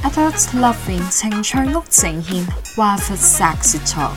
Adult Loving 情趣屋呈現華佛 Sex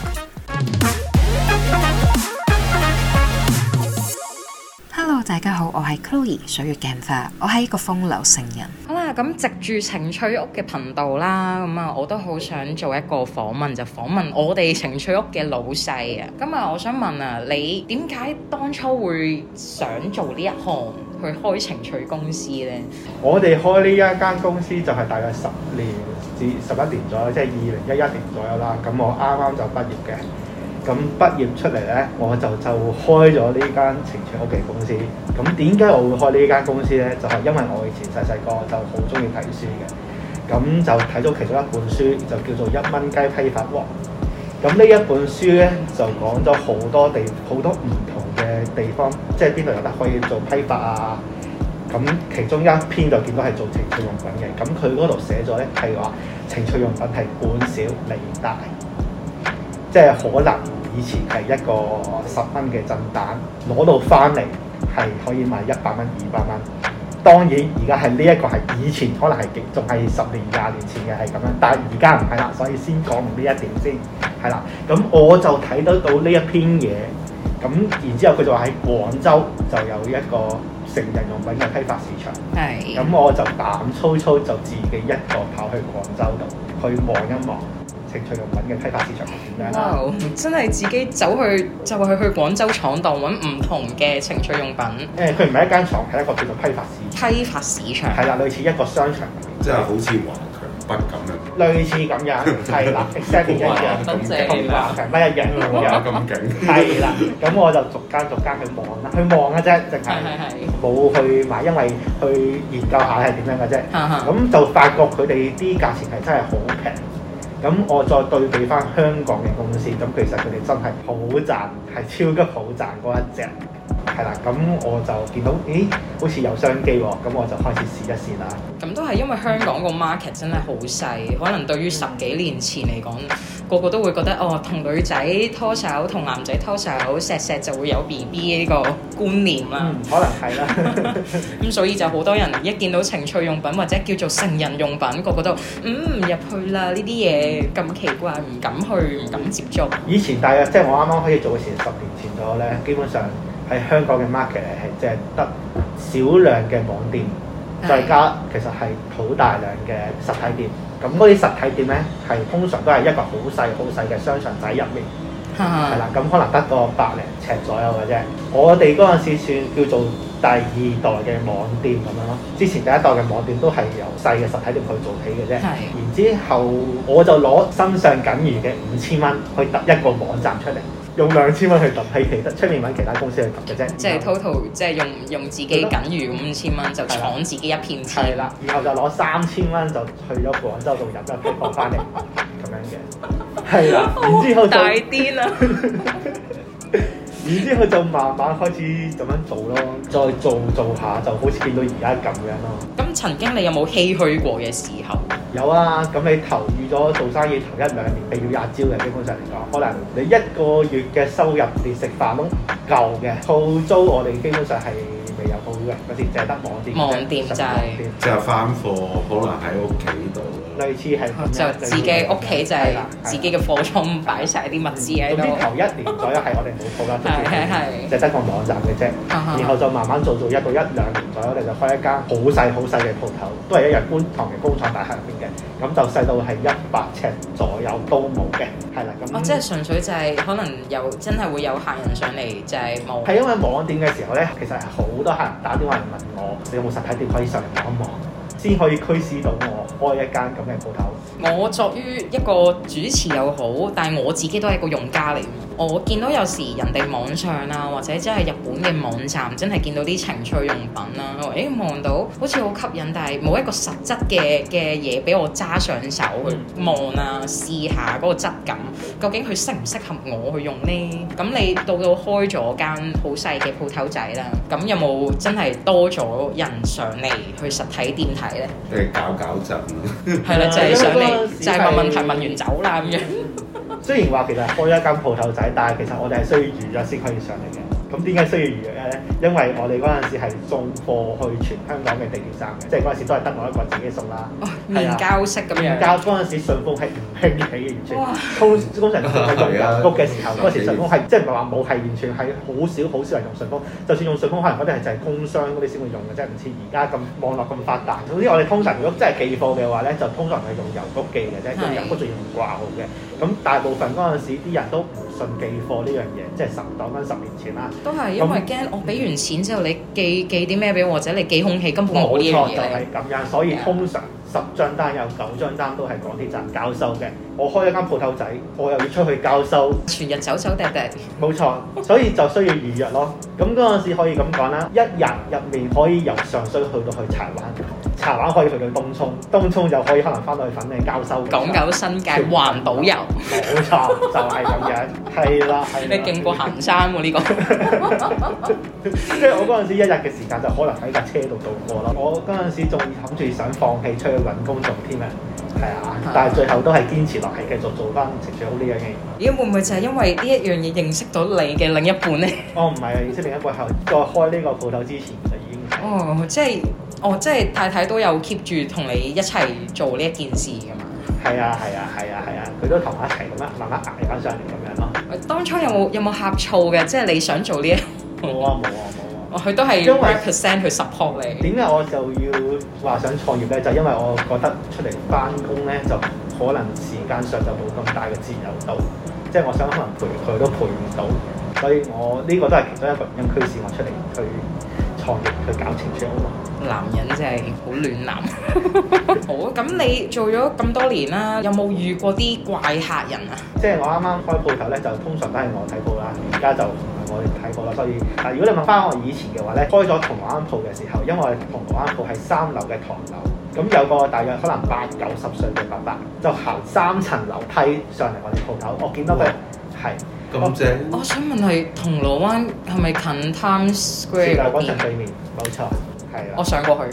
Talk。Hello， 大家好，我係 Chloe 水月鏡花，我係一個風流聖人。 好啦，咁藉住情趣屋嘅頻道啦，我都好想做一個訪問，就訪問我哋情趣屋嘅老細啊。我想問啊，你點解當初會想做呢一行，去開情趣公司呢？ 我哋開呢一間公司就係大概10年至11年左右，即係2011年左右啦。咁我啱啱就畢業嘅。咁畢業出嚟呢，我就開咗呢間情趣屋嘅公司。咁點解我會開呢間公司呢？就係因為我以前細細個就好中意睇書嘅，咁就睇咗其中一本書，就叫做《1蚊雞批發王》。咁呢一本書呢，就講咗好多唔同嘅地方，即係邊度有得可以做批發啊。咁其中一篇就見到係做情趣用品嘅。咁佢嗰度寫咗呢，係話情趣用品係本小利大，即係可能以前係一個10蚊嘅震蛋，攞到翻嚟係可以賣100蚊、200蚊。當然而家係呢一個係以前可能係仲係10年、20年前嘅係咁樣，但係而家唔係啦，所以先講明呢一點先係啦。咁我就睇得到呢一篇嘢，咁然之後佢就話喺廣州就有一個成人用品嘅批發市場，係。咁我就膽粗粗就自己一個跑去廣州度去望一望情趣用品嘅批發市場係點樣啦。 哇！真係自己走去就係去廣州闖蕩揾唔同嘅情趣用品。 佢唔係一間廠，係一個叫做批發市場。 批發市場係啦，類似一個商場， 即係好似華強北咁樣。 類似咁樣，係啦，exactly 一樣，同華強北一樣咁樣。 咁勁。 係啦，咁我就逐間去望啦，去望嘅啫，淨係冇去買，因為去研究下係點樣嘅啫。咁就發覺佢哋啲價錢係真係好平。咁我再對比翻香港嘅公司，咁其實佢哋真係好賺，係超級好賺嗰一隻，係啦。咁我就見到，咦，好似有商機喎，咁我就開始試一試啦。 咁都係因為香港個 market 真係好細，可能對於10幾年前嚟講，個個都會覺得同女仔拖手，同男仔拖手，錫就會有 BB 呢個觀念啦。 可能係啦。 咁所以就好多人一見到情趣用品或者叫做成人用品，個個都入去啦，呢啲嘢咁奇怪，唔敢去，唔敢接觸。 以前大約即係我啱啱開始做嘅時10年前咗咧，基本上喺香港嘅 market 係即係得少量嘅網店，再加其實係好大量嘅實體店。咁嗰啲實體店咧係通常都係一個好細嘅商場仔入面，係啦。咁可能得個100零尺左右嘅啫。我哋嗰陣時算叫做第2代嘅網店咁樣咯。之前第1代嘅網店都係由細嘅實體店去做起嘅啫。然之後我就攞身上僅餘嘅5000蚊去揼一個網站出嚟，用2000蚊去揼，喺出面揾其他公司去揼嘅啫。 即係 total 即係用自己僅餘5000蚊就闖自己一片天。 係啦，然後就攞3000蚊就去咗廣州度入一批貨翻嚟咁樣嘅。係啦，然之後就大癲啦。 然之後就慢慢開始咁樣做咯，再做下就好似見到而家咁樣咯。 咁曾經你有冇唏噓過嘅時候？ 有啊，咁你投預咗做生意頭1-2年，譬如阿招嘅，基本上嚟講，可能你1個月嘅收入連食飯都唔夠嘅。鋪租我哋基本上係未有鋪嘅，嗰時淨係得網店就係即係翻貨，可能喺屋企度。 類似係就自己屋企就係自己嘅貨倉擺晒啲物資喺度。 總之頭1年左右係我哋冇鋪啦，就得個網站嘅啫。然後就慢慢做1到1-2年左右，我哋就開一間好細嘅鋪頭，都係一樣觀塘嘅工廠大廈入邊嘅。咁就細到係100尺左右都冇嘅，係啦。咁即係純粹就係可能真係會有客人上嚟，就係冇。 係因為網店嘅時候咧，其實係好多客人打電話嚟問我，你有冇實體店可以上嚟望一望，先可以驅使到我開一間咁嘅鋪頭。 我作於一個主持又好，但係我自己都係一個用家嚟。我見到有時人哋網上啊，或者真係日本嘅網站，真係見到啲情趣用品啦，望到好似好吸引，但係冇一個實質嘅嘢俾我揸上手去望啊，試下嗰個質感，究竟佢適唔適合我去用呢？咁你到開咗間好細嘅鋪頭仔啦，咁有冇真係多咗人上嚟去實體店睇呢？ 搞震係啦，就係上嚟就係問問題，問完走啦咁樣。 雖然話其實開一間鋪頭仔，但係其實我哋係需要預約先可以上嚟嘅。 咁點解需要預約咧？因為我哋嗰陣時係送貨去全香港嘅地鐵站嘅，即係嗰陣時都係得我一個自己送啦。 面交式咁樣。 面交嗰陣時順豐係唔興起嘅，完全通常喺做郵局嘅時候，嗰時順豐係即係唔係話冇，係完全係好少人用順豐。就算用順豐，可能嗰啲係就係工商嗰啲先會用嘅啫，唔似而家咁網絡咁發達。總之我哋通常如果真係寄貨嘅話咧，就通常係用郵局寄嘅啫，用郵局仲要用掛號嘅。咁大部分嗰陣時啲人都唔信寄貨呢樣嘢，即係講緊10年前啦。 都係因為驚我俾完錢之後，你寄啲咩俾我，或者你寄空氣根本冇呢樣嘢。 冇錯，就係咁樣，所以通常10張單有9張單都係港鐵站交收嘅。我開一間鋪頭仔，我又要出去交收， 全日走趯趯。 冇錯，所以就需要預約咯。咁嗰陣時可以咁講啦，一日入面可以由上水去到去柴灣，柴灣可以去到東涌，東涌就可以可能翻到去粉嶺交收。 港九新界環島遊， 冇錯，就係咁樣，係啦。 你勁過行山喎呢個。 即係我嗰陣時一日嘅時間就可能喺架車度度過咯。我嗰陣時仲諗住想放棄出去揾工做添啊，係啊，但係最後都係堅持落嚟，繼續做翻情緒好呢樣嘢。 咦，會唔會就係因為呢一樣嘢認識到你嘅另一半咧？ 唔係啊，認識另一半後再開呢個鋪頭之前就已經即係太太都有 keep 住同你一齊做呢一件事㗎嘛？ 係啊，佢都同我一齊咁樣慢慢捱翻上嚟咁樣咯。 當初有冇呷醋嘅？即係你想做呢一？ 冇啊。 佢都係 100% 去 support 你。 點解我就要話想創業咧？就因為我覺得出嚟翻工咧，就可能時間上就冇咁大嘅自由度，即係我想可能陪佢都陪唔到，所以我呢個都係其中一個原因驅使我出嚟去創業去搞情趣屋咯。 男人真係好暖男。好，咁你做咗咁多年啦，有冇遇過啲怪客人啊？ 即係我啱啱開鋪頭咧，就通常都係我睇鋪啦，而家就唔係我哋睇鋪啦。所以如果你問翻我以前嘅話咧，開咗銅鑼灣鋪嘅時候，因為我哋銅鑼灣鋪係3樓嘅唐樓，咁有個大約可能80-90歲嘅爸爸，就行3層樓梯上嚟我哋鋪頭，我見到佢係咁正。 我想問係銅鑼灣係咪近 Times Square 嗰邊？ 對面，冇錯。 我上過去。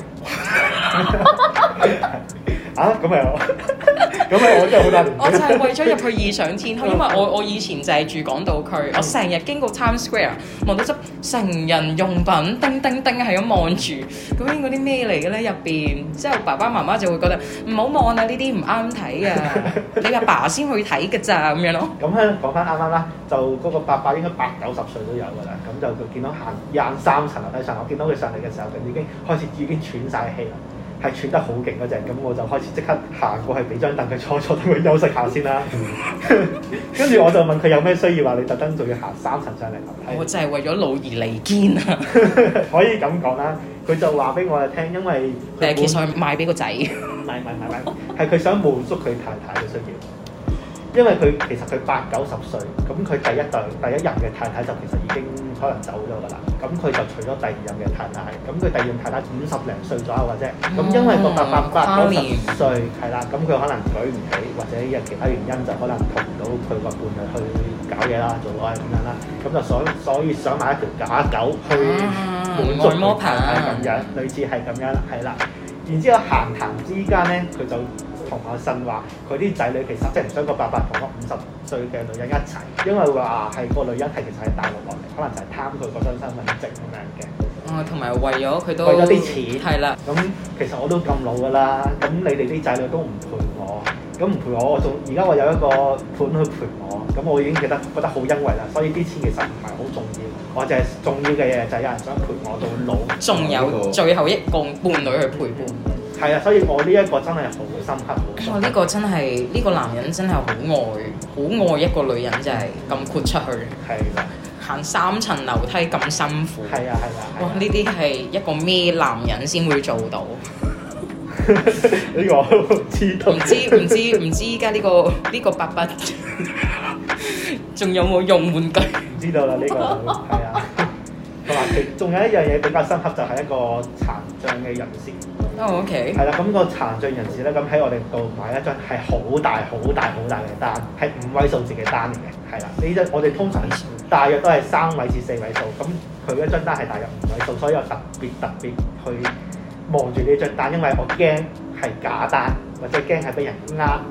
咁我真係好大年紀。 我就係為咗入去異想天開，因為我以前就係住港島區，我成日經過 Times Square，望到執成人用品叮叮叮係咁望住，究竟嗰啲咩嚟嘅咧入邊？之後爸爸媽媽就會覺得唔好望啊，呢啲唔啱睇啊，你阿爸先去睇㗎咋咁樣咯。 咁咧講翻啱啱啦，就嗰個伯伯應該80-90歲都有㗎啦，咁就佢見到行23層樓梯上，我見到佢上嚟嘅時候，佢已經喘晒氣啦。係喘得好勁嗰隻，咁我就開始即刻行過去俾張凳佢坐，等佢休息下先啦。跟住我就問佢有咩需要，話你特登仲要行3層上嚟樓梯。 我就係為咗老而彌堅啊！ 可以咁講啦，佢就話俾我哋聽，因為其實係賣俾個仔。 唔係，係佢想滿足佢太太嘅需要。因為其實佢80-90歲，咁佢第一任嘅太太就其實已經可能走咗㗎啦。咁佢就娶咗第2任嘅太太，咁佢第2任太太50零歲左右嘅啫。咁因為個伯伯80-90歲，係啦，咁佢可能舉唔起，或者有其他原因就可能同唔到佢個伴侶去搞嘢啦，做愛咁樣啦。咁就所以想買一條假狗去滿足佢太太咁樣，類似係咁樣，係啦。然之後閒談之間咧，佢就同我呻話，佢啲仔女其實即係唔想個爸爸同個50歲嘅女人一齊，因為話係個女人係其實係大陸落嚟，可能就係貪佢嗰張身份證咁樣嘅。 同埋為咗佢都為咗啲錢， 係啦。 咁其實我都咁老㗎啦，咁你哋啲仔女都唔陪我，咁唔陪我，而家我有一個伴去陪我，咁我已經覺得好欣慰啦。所以啲錢其實唔係好重要，我就係重要嘅嘢就係有人想陪我到老， 仲有最後一個伴侶去陪伴。 係啊，所以我呢一個真係好深刻。 呢個真係呢個男人真係好愛一個女人，真係咁豁出去。 係啦， 行3層樓梯咁辛苦。 係啊。 哇！呢啲係一個咩男人先會做到？ 呢個知道。 唔知依家呢個伯伯仲有冇用玩具？ 唔知道啦，呢個係啊。同埋仲有一樣嘢比較深刻，就係一個殘障嘅人士。 OK。係啦，咁個殘障人士咧，咁喺我哋度買一張係好大嘅單，係5位數字嘅單嚟嘅。係啦，呢張我哋通常大約都係3位至4位數，咁佢一張單係大約5位數，所以我特別去望住呢張單，因為我驚係假單或者驚係俾人呃，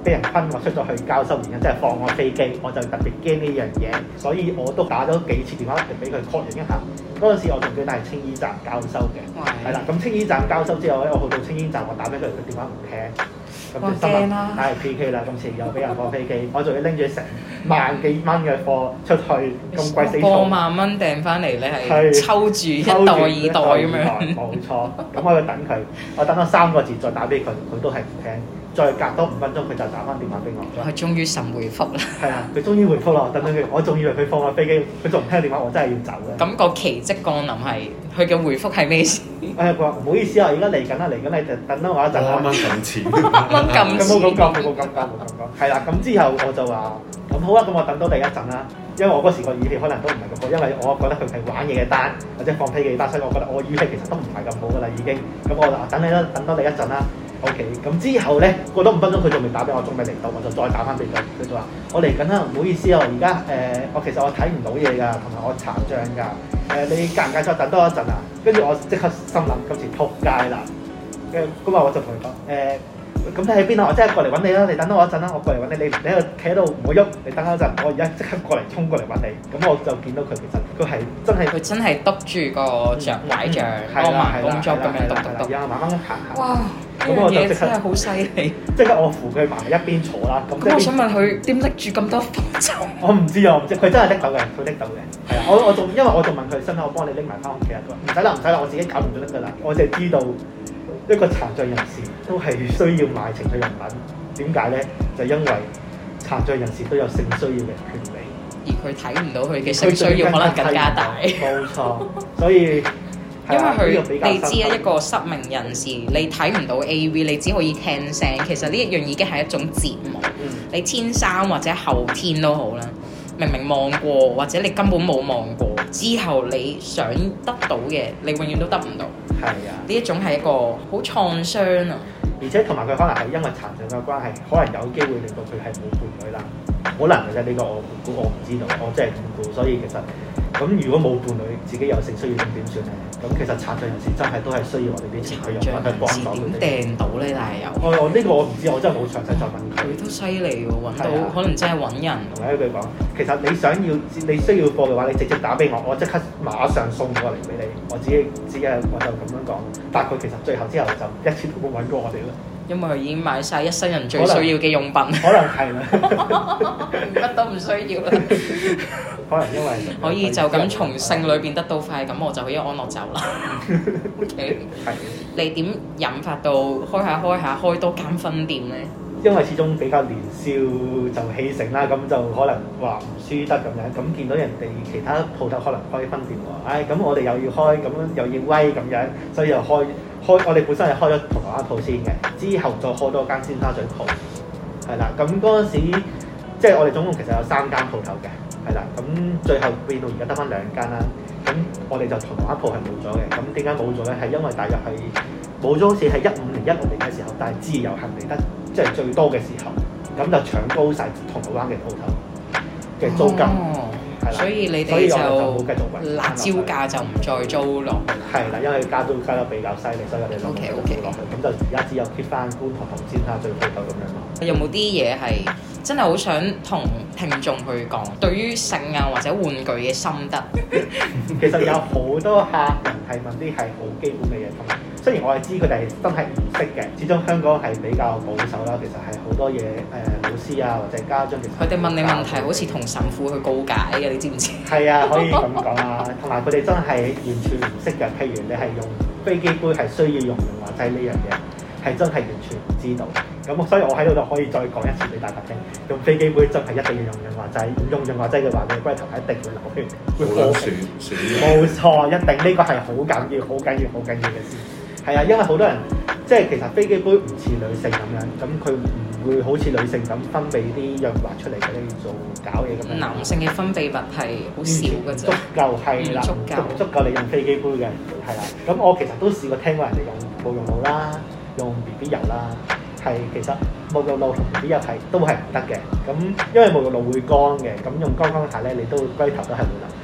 俾人昆我出咗去交收原因，即係放我飛機，我就特別驚呢樣嘢，所以我都打咗幾次電話嚟俾佢確認一下。嗰陣時我仲記得係青衣站交收嘅，係啦。咁青衣站交收之後咧，我去到青衣站，我打俾佢，佢電話唔聽，咁就心諗唉 PK 啦，今次又俾人放飛機，我仲要拎住成萬幾蚊嘅貨出去，咁貴死過萬蚊訂翻嚟，你係抽住一袋二袋咁樣。 冇錯，咁我要等佢，我等咗3個字再打俾佢，佢都係唔聽。再隔多5分鐘，佢就打翻電話俾我。 佢終於神回覆啦。 係啊，佢終於回覆啦，等佢，我仲以為佢放我飛機，佢仲唔聽電話，我真係要走嘅。 咁個奇蹟降臨係佢嘅回覆係咩事？ 佢話唔好意思啊，而家嚟緊啦，嚟緊你就等多我一陣啦。 啱啱撳錢， 啱咁冇咁講。係啦，咁之後我就話咁好啊，咁我等多第一陣啦。因為我嗰時個語氣可能都唔係咁好，因為我覺得佢係玩嘢嘅單或者放飛機嘅單，所以我覺得我語氣其實都唔係咁好噶啦已經。咁我就等你啦，等多你一陣啦。OK， 咁之後咧過多5分鐘，佢仲未打俾我，仲未嚟到，我就再打翻俾佢。佢就話：我嚟緊啦，唔好意思啊，而家我其實我睇唔到嘢㗎，同埋我殘障㗎。你介唔介意再等多一陣啊？跟住我即刻心諗今次撲街啦。咁啊，我就同佢講咁你喺邊啊？我即刻過嚟揾你啦！你等多我一陣啦，我過嚟揾你。你喺度企喺度唔好喐，你等我一陣，我而家即刻過嚟衝過嚟揾你。咁我就見到佢其實佢係真係篤住個著拐杖，個盲公竹咁樣篤， 然後慢慢咁行。 哇！ 咁我就即刻真係好犀利。 即刻我扶佢埋一邊坐啦。 咁我想問佢點拎住咁多貨就？ 我唔知啊，佢真係拎到嘅，佢拎到嘅。係啊，我仲因為我仲問佢身，我幫你拎埋翻屋企啊。佢話唔使啦，我自己搞掂就得㗎啦。我淨係知道。一個殘障人士都係需要買情趣用品，點解咧？就因為殘障人士都有性需要嘅權利， 而佢睇唔到佢嘅性需要可能更加大。 冇錯，所以因為你知啊，一個失明人士，你睇唔到 AV， 你只可以聽聲。其實呢一樣已經係一種折磨。你天生或者後天都好啦，明明望過或者你根本冇望過，之後你想得到嘅，你永遠都得唔到。 係啊， 呢一種係一個好創傷啊！ 而且同埋佢可能係因為殘障嘅關係，可能有機會令到佢係冇伴侶啦。可能嘅啫，呢個我估我唔知道，我真係唔估。所以其實咁如果冇伴侶，自己有性需要咁點算咧？咁其實殘障人士真係都係需要我哋啲情趣用品去幫助佢哋。 點掟到咧？但係有我呢個我唔知，我真係冇詳細再問佢。 佢都犀利喎，揾到可能真係揾人。 同埋一句講，其實你需要貨嘅話，你直接打俾我，我即刻馬上送過嚟俾你。我自己我就咁樣講。但係佢其實最後之後就一次都冇揾過我哋啦。 因為佢已經買晒一生人最需要嘅用品。 可能係啦， 乜都唔需要啦。 可能因為可以就咁從性裏邊得到快感，我就可以安樂走啦。OK，係。你點引發到開下開多間分店咧？ 因為始終比較年少就氣盛啦，咁就可能話唔輸得咁樣，咁見到人哋其他鋪頭可能開分店喎，咁我哋又要開，咁又要威咁樣，所以又開，我哋本身係開咗銅鑼灣鋪先嘅，之後再開多間尖沙咀鋪，係啦，咁嗰陣時即係我哋總共其實有3間鋪頭嘅，係啦，咁最後變到而家得翻2間啦，咁我哋就銅鑼灣鋪係冇咗嘅，咁點解冇咗咧？係因為大約係冇咗，好似係15年、16年嘅時候，但係自由行嚟得即係最多嘅時候，咁就搶高晒銅鑼灣嘅鋪頭嘅租金，係啦， 所以你哋就冇繼續維辣椒價就唔再租落去。 係啦，因為加租加得比較犀利，所以我哋就冇租落去，咁就而家只有 keep 翻觀塘同尖沙咀鋪頭咁樣咯。 有冇啲嘢係真係好想同聽眾去講，對於性啊或者玩具嘅心得？ 其實有好多客人係問啲係好基本嘅嘢，同埋雖然我係知佢哋真係唔識嘅，始終香港係比較保守啦。其實係好多嘢老師啊或者家長其實佢哋問你問題好似同神父去告解嘅，你知唔知？ 係啊，可以咁講啊。同埋佢哋真係完全唔識嘅。譬如你係用飛機杯係需要用潤滑劑呢樣嘢，係真係完全唔知道。咁所以我喺度就可以再講一次俾大家聽，用飛機杯真係一定要用潤滑劑。唔用潤滑劑嘅話，你龜頭係一定會流血，會破皮。冇錯，一定呢個係好緊要、好緊要、好緊要嘅事。係啊，因為好多人即係其實飛機杯唔似女性咁樣，咁佢唔會好似女性咁分泌啲潤滑出嚟俾你做搞嘢咁樣。 男性嘅分泌物係好少嘅啫， 足夠係啦，足夠你用飛機杯嘅係啦。咁我其實都試過聽過人哋用沐浴露啦，用 BB 油啦。係其實沐浴露同 BB 油都係唔得嘅，咁因為沐浴露會乾嘅，咁用乾下咧，你都龜頭都係會流血嘅。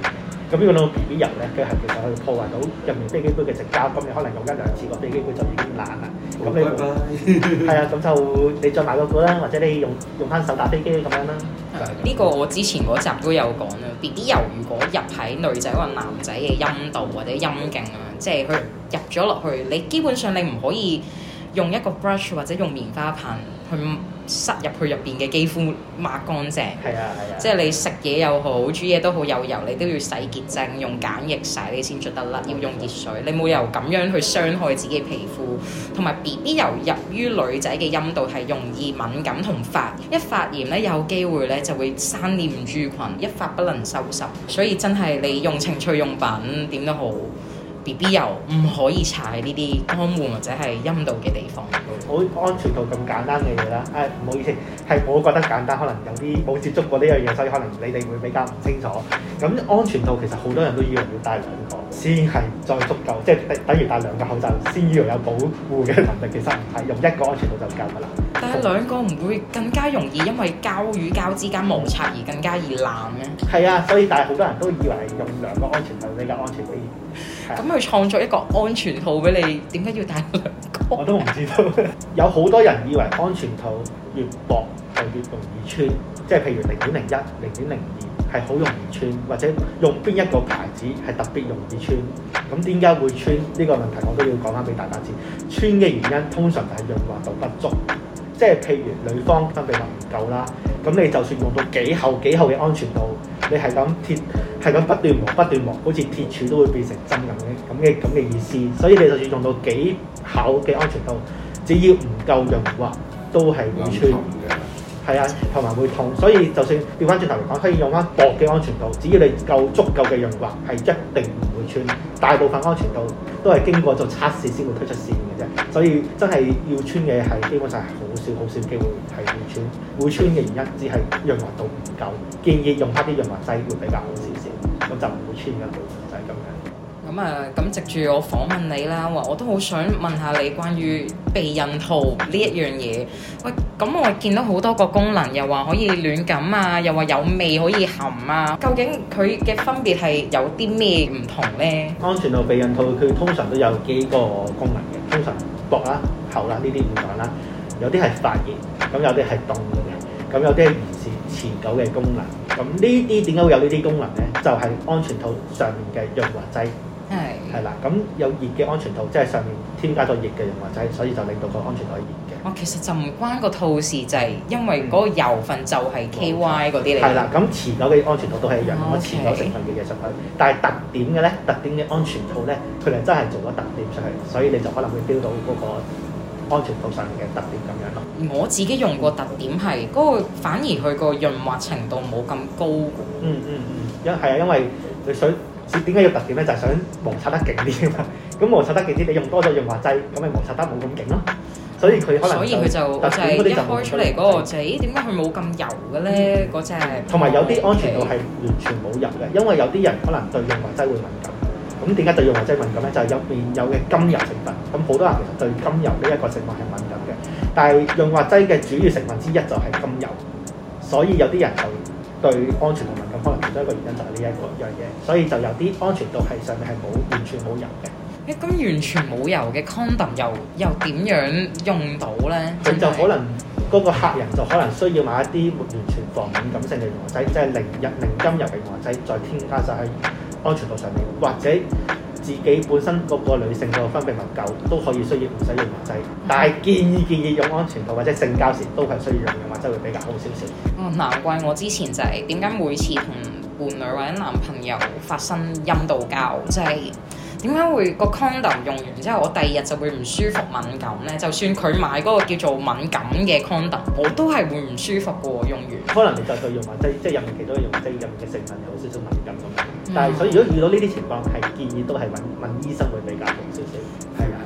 咁呢個到 BB 油咧，佢係其實可以破壞到入面飛機杯嘅直膠，咁你可能用一兩次個飛機杯就已經爛啦。咁你係啊，咁就你再買嗰個啦，或者你用翻手打飛機咁樣啦。 呢個我之前嗰集都有講啦。BB 油如果入喺女仔或男仔嘅陰道或者陰莖啊，即係佢入咗落去，你基本上你唔可以用一個 brush 或者用棉花棒去塞入去入邊嘅肌膚抹乾淨。 係啊。 即係你食嘢又好，煮嘢都好有油，你都要洗潔淨，用梘液洗你先捽得甩，要用熱水。你冇由咁樣去傷害自己皮膚。同埋 BB 油入於女仔嘅陰道係容易敏感同發炎，一發炎咧有機會咧就會生念珠菌，一發不能收拾。所以真係你用情趣用品點都好。BB 油唔可以搽喺呢啲肛門或者係陰道嘅地方。 好安全到咁簡單嘅嘢啦，唔好意思，係我覺得簡單，可能有啲冇接觸過呢樣嘢，所以可能你哋會比較唔清楚。咁安全度其實好多人都以為要戴兩個先係再足夠，即係等於戴兩個口罩先以為有保護嘅能力，其實唔係，用一個安全度就夠㗎啦。 但係兩個唔會更加容易因為膠與膠之間摩擦而更加易爛咩？ 係啊，所以但係好多人都以為用兩個安全套比較安全啲。 咁佢創作一個安全套俾你，點解要戴兩個？ 我都唔知道。有好多人以為安全套越薄就越容易穿，即係譬如0.01、0.02係好容易穿，或者用邊一個牌子係特別容易穿。咁點解會穿呢個問題，我都要講翻俾大家知。穿嘅原因通常就係潤滑度不足，即係譬如女方分泌物唔夠啦，咁你就算用到幾厚嘅安全套，你係咁不斷磨，好似鐵柱都會變成針咁嘅意思。所以你就算用到幾厚嘅安全套，只要唔夠潤滑，都係會穿。係啊，同埋會痛。所以就算調翻轉頭嚟講，可以用翻薄嘅安全套，只要你足夠嘅潤滑，係一定唔會穿。大部分安全套都係經過做測試先會推出市面嘅啫。所以真係要穿嘅係基本上係好少機會係會穿。會穿嘅原因只係潤滑度唔夠，建議用翻啲潤滑劑會比較好少少，咁就唔會穿嘅，就係咁樣。 咁藉住我訪問你啦，我都好想問下你關於避孕套呢一樣嘢。喂，咁我見到好多個功能，又話可以暖感啊，又話有味可以含啊，究竟佢嘅分別係有啲咩唔同呢？ 安全套避孕套佢通常都有幾個功能嘅，通常薄啦、厚啦呢啲唔講啦，有啲係發熱，咁有啲係凍嘅，咁有啲係持久嘅功能。咁呢啲點解會有呢啲功能呢？就係安全套上面嘅潤滑劑。係啦，咁有熱嘅安全套，即係上面添加咗熱嘅潤滑劑，所以就令到個安全套熱嘅。 其實就唔關個套事，就係因為嗰個油份就係 KY 嗰啲嚟。 係啦，咁持久嘅安全套都係一樣，咁持久成分嘅嘢上去。但係特點嘅咧，特點嘅安全套咧，佢哋真係做咗特點出去，所以你就可能會 feel 到嗰個安全套上面嘅特點咁樣咯。 我自己用過特點係嗰個，反而佢個潤滑程度冇咁高。 因為你想。點解要特點咧？就係想摩擦得勁啲啊嘛！咁摩擦得勁啲，你用多咗潤滑劑，咁咪摩擦得冇咁勁咯。所以佢可能就係一開出嚟嗰個就係點解佢冇咁油嘅咧？嗰隻同埋有啲安全套係完全冇油嘅，因為有啲人可能對潤滑劑會敏感。咁點解對潤滑劑敏感咧？就係入面有嘅甘油成分。咁好多人其實對甘油呢一個成分係敏感嘅，但係潤滑劑嘅主要成分之一就係甘油，所以有啲人就對安全套敏感，可能其中一個原因就係呢一樣嘢，所以就有啲安全套係上面係完全冇油嘅。 咁完全冇油嘅 condom 又點樣用到咧？ 佢就可能嗰個客人就可能需要買一啲完全防敏感性嘅潤滑劑，即係零甘油嘅潤滑劑，再添加晒喺安全套上面，或者自己本身嗰個女性個分泌物夠都可以需要唔使潤滑劑，但係建議用安全套或者性交時都係需要用潤滑劑會比較好少少。 難怪我之前就係點解每次同伴侶或者男朋友發生陰道交，就係點解會個 condom 用完之後，我第二日就會唔舒服敏感咧？就算佢買嗰個叫做敏感嘅 condom，我都係會唔舒服嘅喎。用完可能你就對潤滑劑，即係入面其中嘅潤滑劑入面嘅成分有少少敏感咁樣。但係所以如果遇到呢啲情況，係建議都係問醫生會比較好少少。係啊。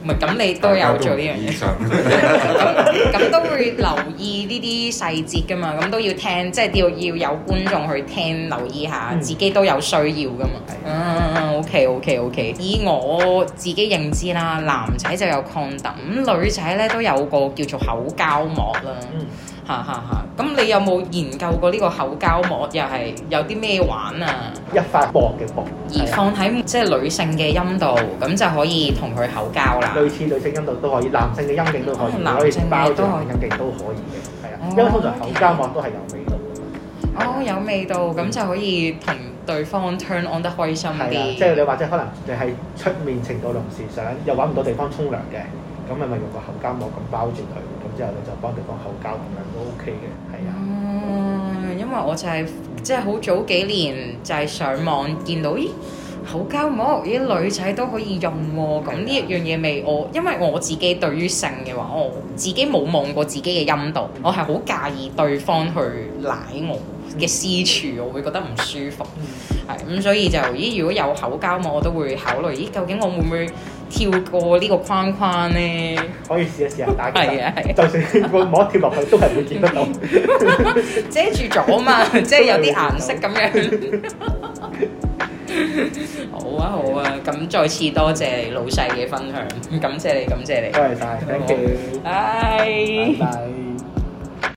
唔係咁，你都有做呢樣嘢。咁都會留意呢啲細節㗎嘛，咁都要聽，即係要有觀眾去聽留意下，自己都有需要㗎嘛。OK。以我自己認知啦，男仔就有 condom，女仔咧都有個叫做口膠膜啦。咁你有冇研究過呢個口膠膜又係有啲咩玩啊？ 一塊薄嘅膜， 而放喺即係女性嘅陰道，咁就可以同佢口交啦。 類似女性陰道都可以，男性嘅陰莖都可以，可以包住男陰莖都可以嘅，係啊。因為通常口膠膜都係有味道嘅。有味道，咁就可以同對方 turn on 得開心啲。 即係你或者可能你係出面情到濃時想又揾唔到地方沖涼嘅，咁咪用個口膠膜咁包住佢，咁之後你就幫對方口交咁樣都 OK 嘅，係啊。 因為我就係即係好早幾年就係上網見到，咦口膠膜啲女仔都可以用喎，咁呢一樣嘢未因為我自己對於性嘅話，我自己冇望過自己嘅陰道，我係好介意對方去舐我嘅私處，我會覺得唔舒服。咁所以就如果有口膠膜，我都會考慮，究竟我會唔會跳過呢個框框咧？ 可以試一試下打機。 係就算個膜跳落去都係會見得到。 遮住咗嘛，即係有啲顏色咁樣。好啊，咁再次多謝老細嘅分享，感謝你。 多謝晒，thank you。 拜拜。